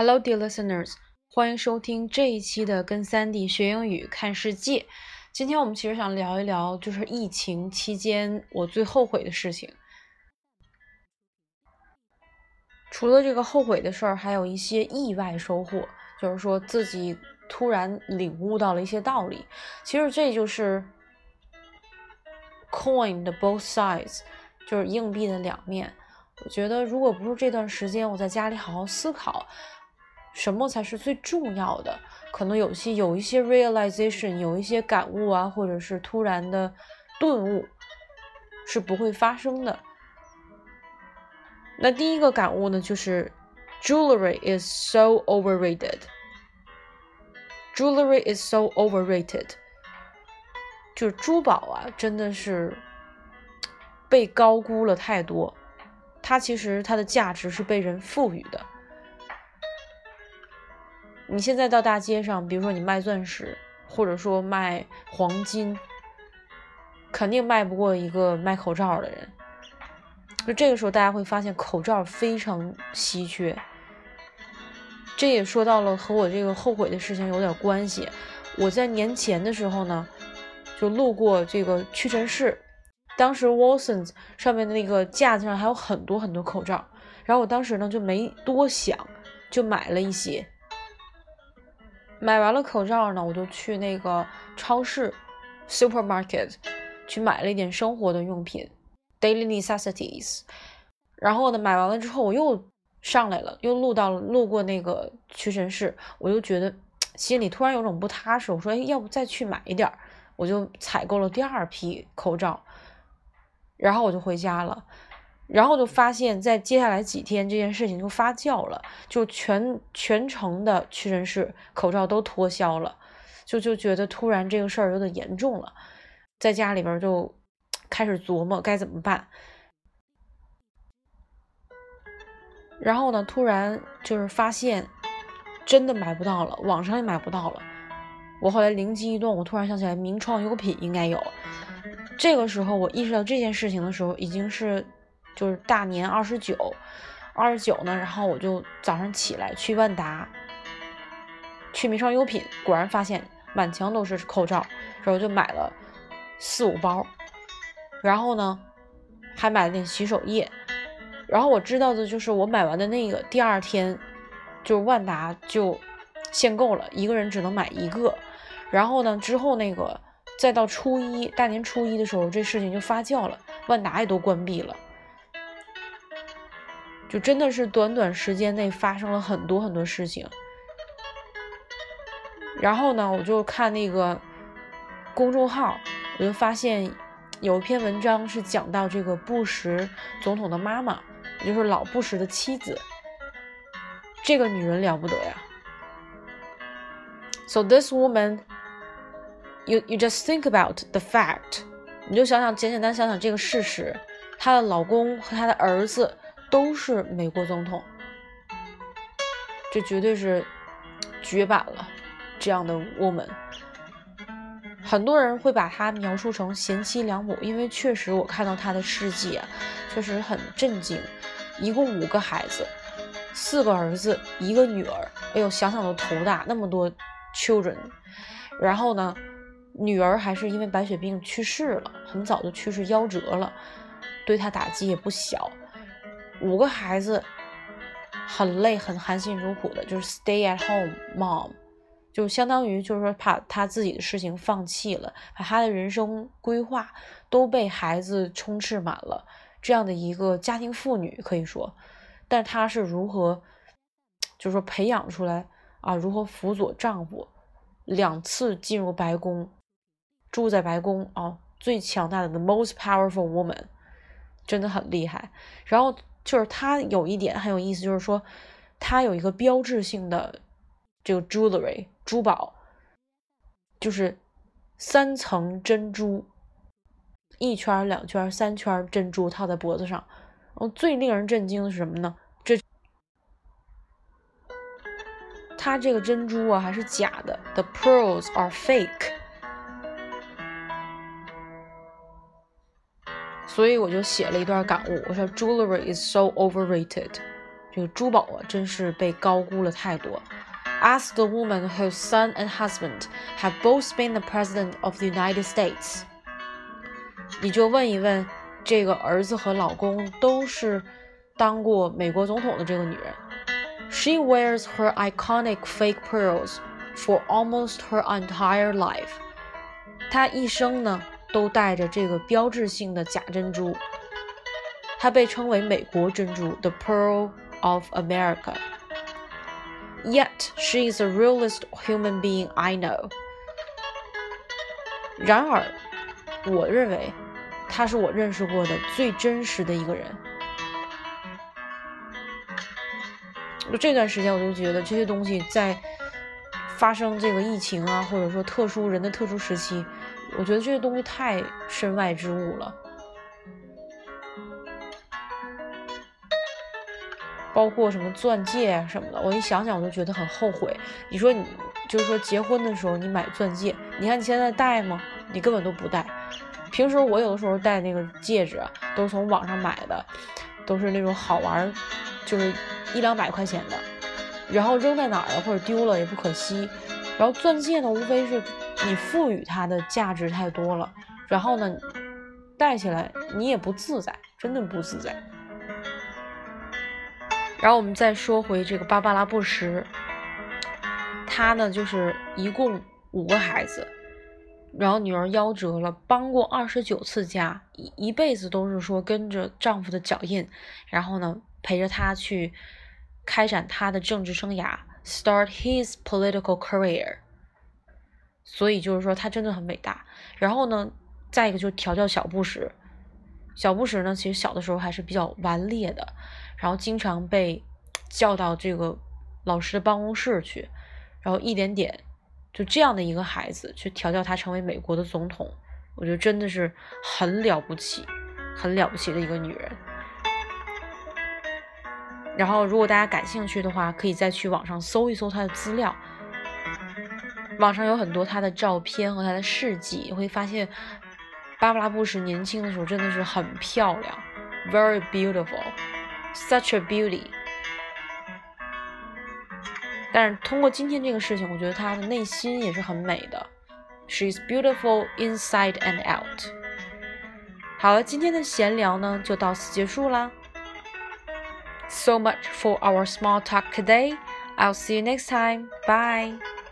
Hello, dear listeners， 欢迎收听这一期的跟3D 学英语看世界。今天我们其实想聊一聊，就是疫情期间我最后悔的事情。除了这个后悔的事儿，还有一些意外收获，就是说自己突然领悟到了一些道理。其实这就是 coin 的 both sides， 就是硬币的两面。我觉得如果不是这段时间我在家里好好思考什么才是最重要的，可能有一些 realization， 有一些感悟啊，或者是突然的顿悟是不会发生的。那第一个感悟呢，就是 jewelry is so overrated. Jewelry is so overrated. 就是珠宝啊，真的是被高估了太多。它其实它的价值是被人赋予的。你现在到大街上，比如说你卖钻石，或者说卖黄金，肯定卖不过一个卖口罩的人。就这个时候大家会发现口罩非常稀缺。这也说到了和我这个后悔的事情有点关系。我在年前的时候呢，就路过这个屈臣氏，当时 Watsons 上面的那个架子上还有很多很多口罩，然后我当时呢就没多想，就买了一些。买完了口罩呢，我就去那个超市 supermarket 去买了一点生活的用品 daily necessities。 然后呢买完了之后我又上来了，又路过那个屈臣氏，我就觉得心里突然有种不踏实，我说要不再去买一点，我就采购了第二批口罩，然后我就回家了。然后就发现在接下来几天这件事情就发酵了，就全城的屈臣氏口罩都脱销了，就觉得突然这个事儿有点严重了，在家里边就开始琢磨该怎么办。然后呢突然就是发现真的买不到了，网上也买不到了。我后来灵机一动，我突然想起来名创优品应该有。这个时候我意识到这件事情的时候已经是就是大年29呢，然后我就早上起来去万达，去名创优品，果然发现满墙都是口罩，然后就买了4-5包，然后呢还买了点洗手液。然后我知道的就是我买完的那个第二天，就是万达就限购了，一个人只能买一个。然后呢之后那个再到大年初一的时候，这事情就发酵了，万达也都关闭了。就真的是短时间内发生了很多很多事情。然后呢我就看那个公众号，我就发现有一篇文章是讲到这个布什总统的妈妈，也就是老布什的妻子，这个女人了不得呀。 So this woman, you just think about the fact， 你就简单想想这个事实，她的老公和她的儿子都是美国总统，这绝对是绝版了，这样的 woman。 很多人会把她描述成贤妻良母，因为确实我看到她的事迹啊，确实很震惊。一共5个孩子，4个儿子1个女儿，哎呦想想都头大，那么多 children。 然后呢女儿还是因为白血病去世了，很早就去世夭折了，对她打击也不小。5个孩子很累，很含辛茹苦的，就是 stay at home mom， 就相当于就是说把他自己的事情放弃了，把他的人生规划都被孩子充斥满了，这样的一个家庭妇女可以说。但她是如何就是说培养出来啊，如何辅佐丈夫2次进入白宫，住在白宫啊，最强大的 the most powerful woman， 真的很厉害。然后就是她有一点很有意思，就是说她有一个标志性的这个 jewelry 珠宝，就是3层珍珠，1圈2圈3圈珍珠套在脖子上。最令人震惊的是什么呢？它这个珍珠啊还是假的， the pearls are fake。 所以我就写了一段感悟，我说 jewelry is so overrated， 这个珠宝啊，真是被高估了太多。Ask the woman whose son and husband have both been the president of the United States. 你就问一问这个儿子和老公都是当过美国总统的这个女人。She wears her iconic fake pearls for almost her entire life. 她一生呢都戴着这个标志性的假珍珠。她被称为美国珍珠 The Pearl of America. Yet she is the realest human being I know. 然而我认为她是我认识过的最真实的一个人。这段时间我就觉得这些东西在发生这个疫情啊，或者说人的特殊时期，我觉得这些东西太身外之物了。包括什么钻戒啊什么的，我一想想我就觉得很后悔。你说你就是说结婚的时候你买钻戒，你看你现在戴吗？你根本都不戴。平时我有的时候戴那个戒指啊，都是从网上买的，都是那种好玩，就是100-200块钱的，然后扔在哪儿了或者丢了也不可惜。然后钻戒呢，无非是你赋予它的价值太多了，然后呢戴起来你也不自在，真的不自在。然后我们再说回这个芭芭拉·布什，她呢就是一共5个孩子，然后女儿夭折了，搬过29次家，一辈子都是说跟着丈夫的脚印，然后呢陪着他去开展他的政治生涯 ，start his political career。所以就是说他真的很伟大。然后呢，再一个就是调教小布什，小布什呢其实小的时候还是比较顽劣的，然后经常被叫到这个老师的办公室去，然后一点点就这样的一个孩子去调教他成为美国的总统，我觉得真的是很了不起，很了不起的一个女人。然后如果大家感兴趣的话，可以再去网上搜一搜她的资料，网上有很多她的照片和她的事迹，会发现芭芭拉·布什年轻的时候真的是很漂亮 ，very beautiful, such a beauty。但是通过今天这个事情，我觉得她的内心也是很美的 ，she's beautiful inside and out。好了，今天的闲聊呢就到此结束啦。So much for our small talk today. I'll see you next time. Bye.